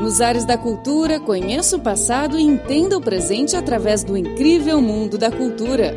Nos Ares da Cultura, conheça o passado e entenda o presente através do incrível mundo da cultura.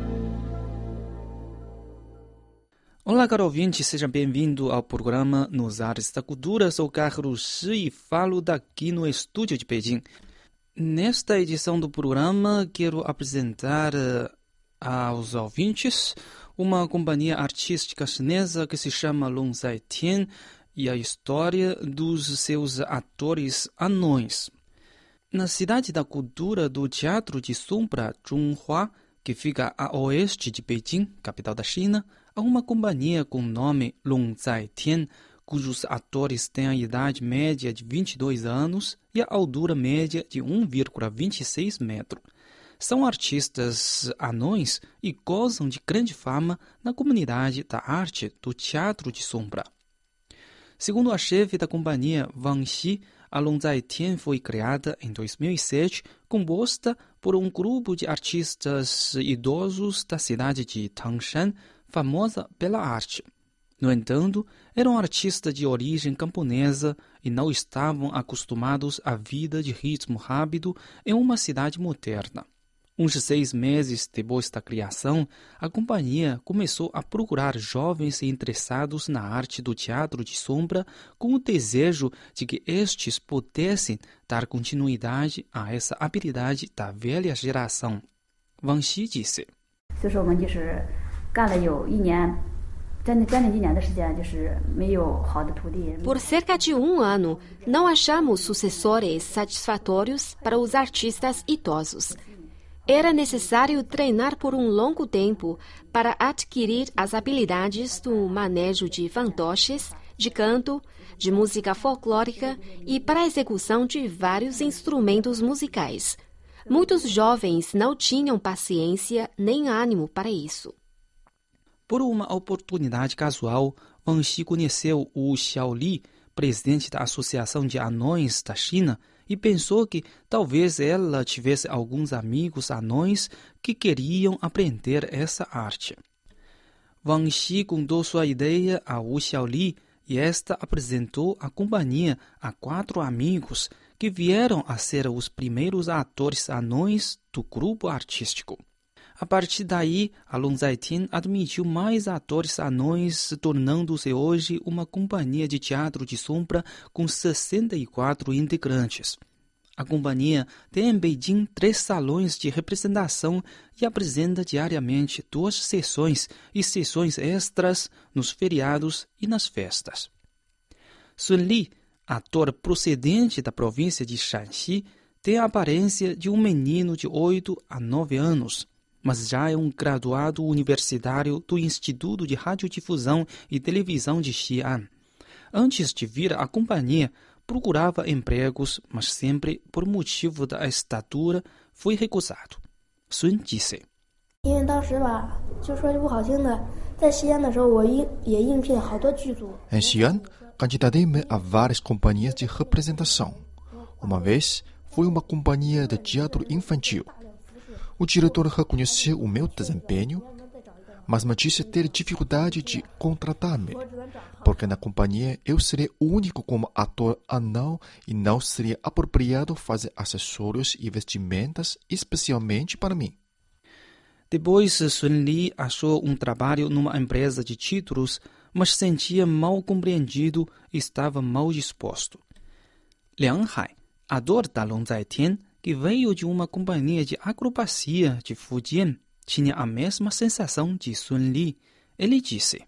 Olá, caro ouvinte, seja bem-vindo ao programa Nos Ares da Cultura. Sou Carlos Shi e falo daqui no estúdio de Pequim. Nesta edição do programa, quero apresentar aos ouvintes uma companhia artística chinesa que se chama Long Zai Tian e a história dos seus atores anões. Na cidade da cultura do Teatro de Sombra, Zhonghua, que fica a oeste de Pequim, capital da China, há uma companhia com o nome Long Zai Tian, cujos atores têm a idade média de 22 anos e a altura média de 1,26 metros. São artistas anões e gozam de grande fama na comunidade da arte do Teatro de Sombra. Segundo a chefe da companhia, Wang Xi, a Long Zai Tian foi criada em 2007, composta por um grupo de artistas idosos da cidade de Tangshan, famosa pela arte. No entanto, eram artistas de origem camponesa e não estavam acostumados à vida de ritmo rápido em uma cidade moderna. Uns 6 meses depois da criação, a companhia começou a procurar jovens interessados na arte do teatro de sombra com o desejo de que estes pudessem dar continuidade a essa habilidade da velha geração. Wang Xi disse: Por cerca de um ano, não achamos sucessores satisfatórios para os artistas idosos. Era necessário treinar por um longo tempo para adquirir as habilidades do manejo de fantoches, de canto, de música folclórica e para a execução de vários instrumentos musicais. Muitos jovens não tinham paciência nem ânimo para isso. Por uma oportunidade casual, Wang Xi conheceu o Xiao Li, presidente da Associação de Anões da China, e pensou que talvez ela tivesse alguns amigos anões que queriam aprender essa arte. Wang Xi contou sua ideia a Wu Xiaoli e esta apresentou a companhia a 4 amigos que vieram a ser os primeiros atores anões do grupo artístico. A partir daí, a Long Zai Tian admitiu mais atores anões, tornando-se hoje uma companhia de teatro de sombra com 64 integrantes. A companhia tem em Beijing 3 salões de representação e apresenta diariamente 2 sessões e sessões extras nos feriados e nas festas. Sun Li, ator procedente da província de Shanxi, tem a aparência de um menino de 8 a 9 anos. Mas já é um graduado universitário do Instituto de Radiodifusão e Televisão de Xi'an. Antes de vir à companhia, procurava empregos, mas sempre, por motivo da estatura, foi recusado. Sun disse: Em Xi'an, candidatei-me a várias companhias de representação. Uma vez, foi uma companhia de teatro infantil. O diretor reconheceu o meu desempenho, mas me disse ter dificuldade de contratar-me, porque na companhia eu seria o único como ator anão e não seria apropriado fazer acessórios e vestimentas especialmente para mim. Depois, Sun Li achou um trabalho numa empresa de títulos, mas sentia mal compreendido e estava mal disposto. Liang Hai, ator da Long Zai Tian, que veio de uma companhia de acrobacia de Fujian, tinha a mesma sensação de Sun Li. Ele disse: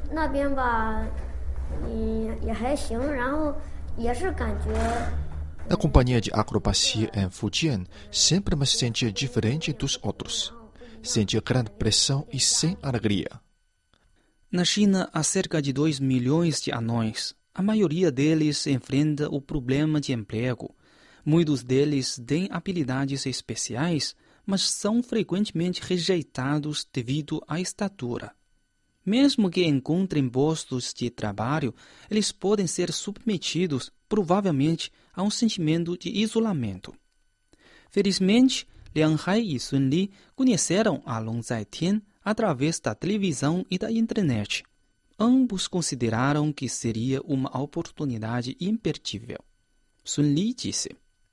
Na companhia de acrobacia em Fujian, sempre me sentia diferente dos outros. Sentia grande pressão e sem alegria. Na China, há cerca de 2 milhões de anões. A maioria deles enfrenta o problema de emprego. Muitos deles têm habilidades especiais, mas são frequentemente rejeitados devido à estatura. Mesmo que encontrem postos de trabalho, eles podem ser submetidos, provavelmente, a um sentimento de isolamento. Felizmente, Liang Hai e Sun Li conheceram a Long Zai Tian através da televisão e da internet. Ambos consideraram que seria uma oportunidade imperdível. Sun Li disse.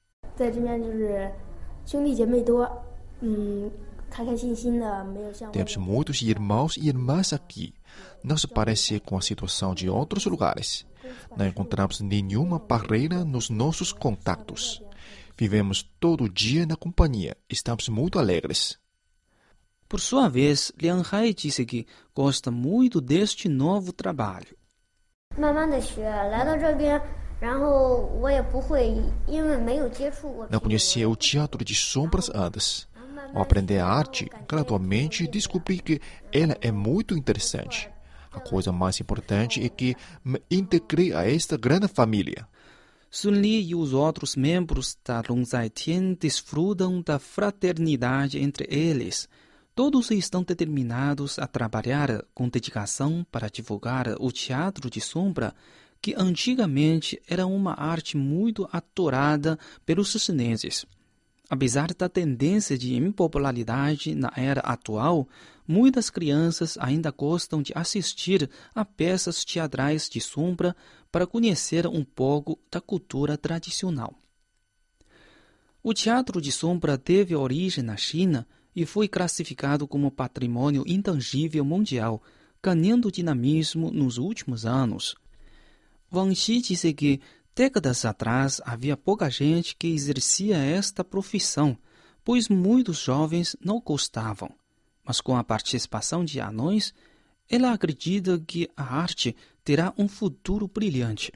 Temos muitos irmãos e irmãs aqui. Não se parece com a situação de outros lugares. Não encontramos nenhuma barreira nos nossos contatos. Vivemos todo dia na companhia. Estamos muito alegres. Por sua vez, Liang Hai disse que gosta muito deste novo trabalho. Não conhecia o teatro de sombras antes. Ao aprender a arte, gradualmente descobri que ela é muito interessante. A coisa mais importante é que me integrei a esta grande família. Sun Li e os outros membros da Long Zai Tian desfrutam da fraternidade entre eles. Todos estão determinados a trabalhar com dedicação para divulgar o teatro de sombra, que antigamente era uma arte muito adorada pelos chineses. Apesar da tendência de impopularidade na era atual, muitas crianças ainda gostam de assistir a peças teatrais de sombra para conhecer um pouco da cultura tradicional. O teatro de sombra teve origem na China e foi classificado como patrimônio intangível mundial, ganhando dinamismo nos últimos anos. Wang Xi disse que décadas atrás havia pouca gente que exercia esta profissão, pois muitos jovens não gostavam. Mas com a participação de anões, ela acredita que a arte terá um futuro brilhante.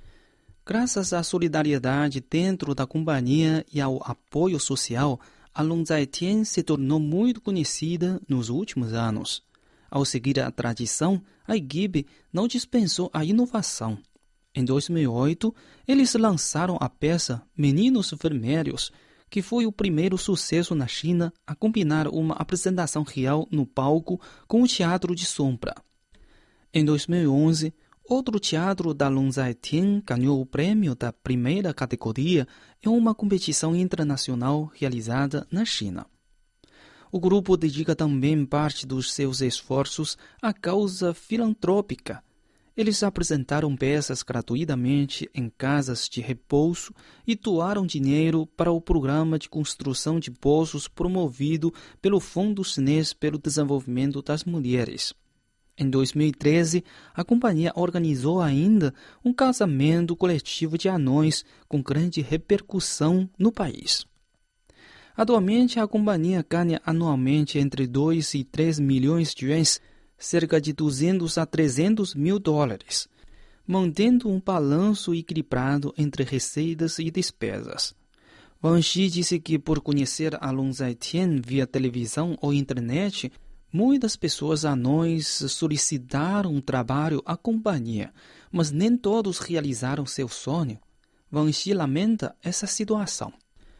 Graças à solidariedade dentro da companhia e ao apoio social, a Long Zai Tian se tornou muito conhecida nos últimos anos. Ao seguir a tradição, a equipe não dispensou a inovação. Em 2008, eles lançaram a peça Meninos Vermelhos, que foi o primeiro sucesso na China a combinar uma apresentação real no palco com o teatro de sombra. Em 2011, outro teatro da Long Zai Tian ganhou o prêmio da primeira categoria em uma competição internacional realizada na China. O grupo dedica também parte dos seus esforços à causa filantrópica. Eles apresentaram peças gratuitamente em casas de repouso e doaram dinheiro para o programa de construção de poços promovido pelo Fundo Chinês pelo Desenvolvimento das Mulheres. Em 2013, a companhia organizou ainda um casamento coletivo de anões com grande repercussão no país. Atualmente, a companhia ganha anualmente entre 2 e 3 milhões de yuans, cerca de 200 a 300 mil dólares, mantendo um balanço equilibrado entre receitas e despesas. Wang Xi disse que, por conhecer a Long Zai Tian via televisão ou internet, muitas pessoas anões solicitaram um trabalho à companhia, mas nem todos realizaram seu sonho. Wang Xi lamenta essa situação.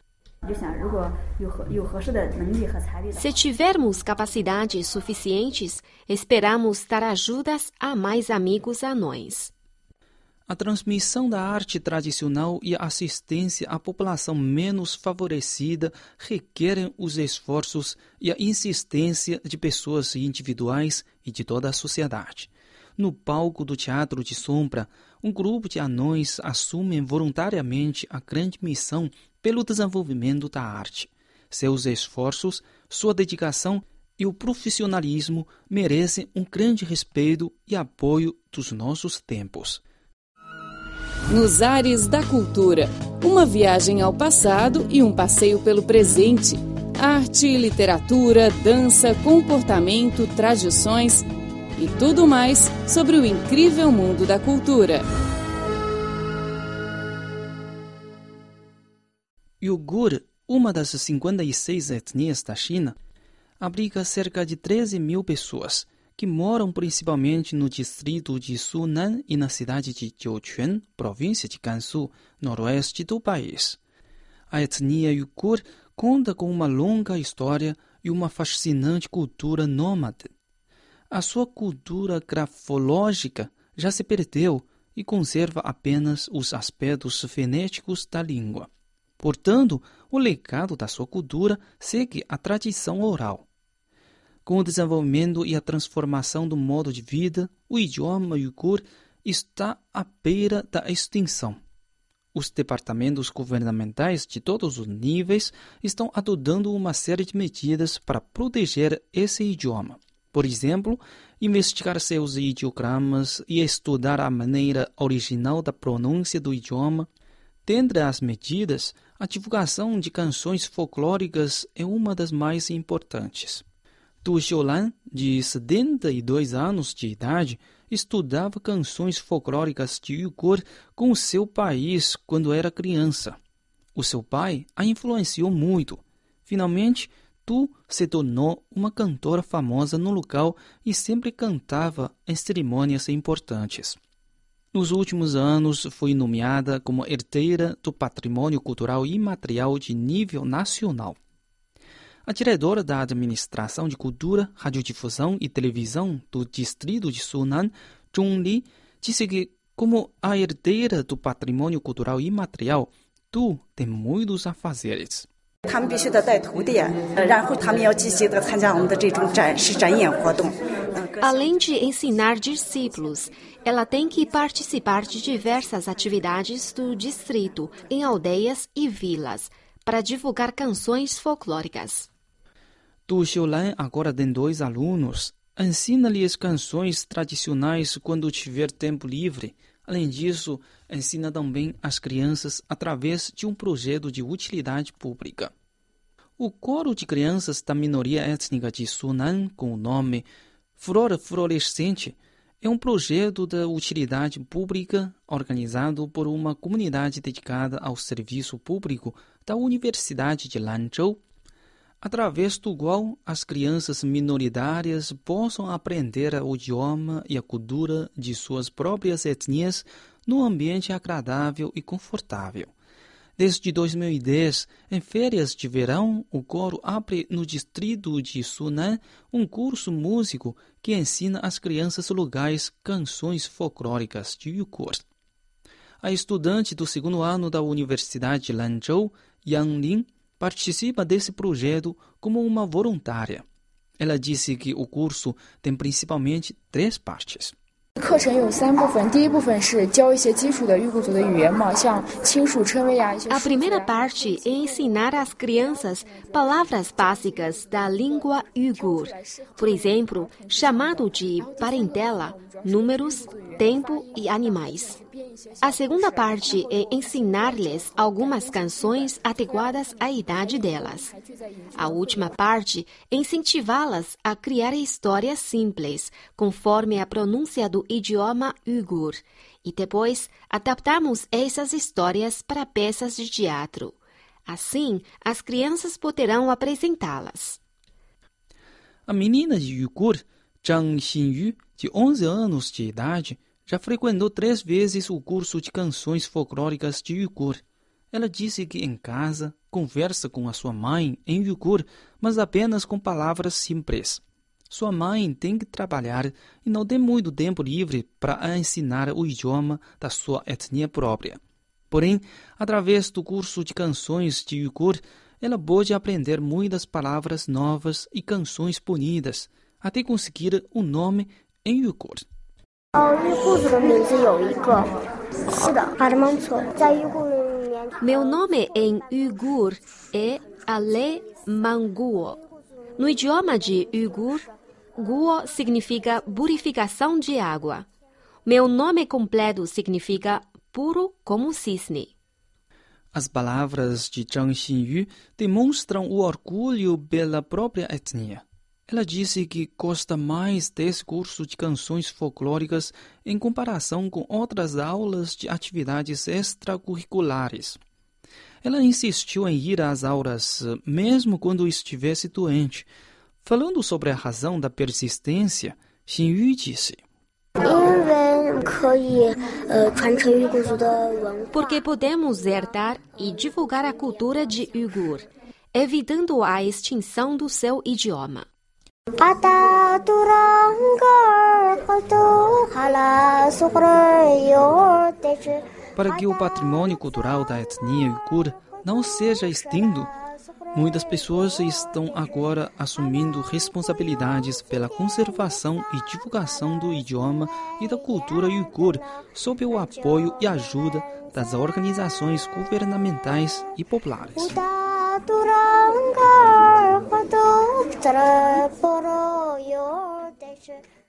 Se tivermos capacidades suficientes, esperamos dar ajudas a mais amigos anões. A transmissão da arte tradicional e a assistência à população menos favorecida requerem os esforços e a insistência de pessoas individuais e de toda a sociedade. No palco do Teatro de Sombra, um grupo de anões assumem voluntariamente a grande missão pelo desenvolvimento da arte. Seus esforços, sua dedicação e o profissionalismo merecem um grande respeito e apoio dos nossos tempos. Nos Ares da Cultura, uma viagem ao passado e um passeio pelo presente. Arte, literatura, dança, comportamento, tradições e tudo mais sobre o incrível mundo da cultura. Uigur, uma das 56 etnias da China, abriga cerca de 13 mil pessoas, que moram principalmente no distrito de Sunan e na cidade de Jiuquan, província de Gansu, noroeste do país. A etnia Uigur conta com uma longa história e uma fascinante cultura nômade. A sua cultura grafológica já se perdeu e conserva apenas os aspectos fonéticos da língua. Portanto, o legado da sua cultura segue a tradição oral. Com o desenvolvimento e a transformação do modo de vida, o idioma uigur está à beira da extinção. Os departamentos governamentais de todos os níveis estão adotando uma série de medidas para proteger esse idioma. Por exemplo, investigar seus ideogramas e estudar a maneira original da pronúncia do idioma. Dentre as medidas, a divulgação de canções folclóricas é uma das mais importantes. Tu Xiulan, de 72 anos de idade, estudava canções folclóricas de Uyghur com o seu país quando era criança. O seu pai a influenciou muito. Finalmente, Tu se tornou uma cantora famosa no local e sempre cantava em cerimônias importantes. Nos últimos anos, foi nomeada como herdeira do patrimônio cultural imaterial de nível nacional. A diretora da Administração de Cultura, Radiodifusão e Televisão do Distrito de Sunan, Zhong Li, disse que, como a herdeira do patrimônio cultural imaterial, Tu tem muitos afazeres. Além de ensinar discípulos, ela tem que participar de diversas atividades do distrito, em aldeias e vilas, para divulgar canções folclóricas. Tu Xiulan agora tem 2 alunos. Ensina-lhes canções tradicionais quando tiver tempo livre. Além disso, ensina também as crianças através de um projeto de utilidade pública. O coro de crianças da minoria étnica de Sunan, com o nome Flor Florescente, é um projeto de utilidade pública organizado por uma comunidade dedicada ao serviço público da Universidade de Lanzhou, através do qual as crianças minoritárias possam aprender o idioma e a cultura de suas próprias etnias num ambiente agradável e confortável. Desde 2010, em férias de verão, o coro abre no distrito de Sunan um curso músico que ensina às crianças locais canções folclóricas de Uyghur. A estudante do 2º ano da Universidade de Lanzhou, Yang Lin, participa desse projeto como uma voluntária. Ela disse que o curso tem principalmente 3 partes. A primeira parte é ensinar às crianças palavras básicas da língua Uyghur, por exemplo, chamado de parentela, números, tempo e animais. A segunda parte é ensinar-lhes algumas canções adequadas à idade delas. A última parte é incentivá-las a criar histórias simples, conforme a pronúncia do idioma Uyghur, e depois adaptamos essas histórias para peças de teatro. Assim, as crianças poderão apresentá-las. A menina de Uyghur, Zhang Xinyu, de 11 anos de idade, já frequentou 3 vezes o curso de canções folclóricas de Uyghur. Ela disse que em casa conversa com a sua mãe em Uyghur, mas apenas com palavras simples. Sua mãe tem que trabalhar e não tem muito tempo livre para ensinar o idioma da sua etnia própria. Porém, através do curso de canções de Uyghur, ela pode aprender muitas palavras novas e canções bonitas, até conseguir um nome em Uyghur. Meu nome em Uyghur é Ale Manguo. No idioma de Uyghur, Guo significa purificação de água. Meu nome completo significa puro como cisne. As palavras de Zhang Xinyu demonstram o orgulho pela própria etnia. Ela disse que gosta mais desse curso de canções folclóricas em comparação com outras aulas de atividades extracurriculares. Ela insistiu em ir às aulas mesmo quando estivesse doente. Falando sobre a razão da persistência, Xinyu disse: Porque podemos herdar e divulgar a cultura de Uyghur, evitando a extinção do seu idioma. Para que o patrimônio cultural da etnia Uyghur não seja extinto, Muitas pessoas estão agora assumindo responsabilidades pela conservação e divulgação do idioma e da cultura uigur, sob o apoio e ajuda das organizações governamentais e populares.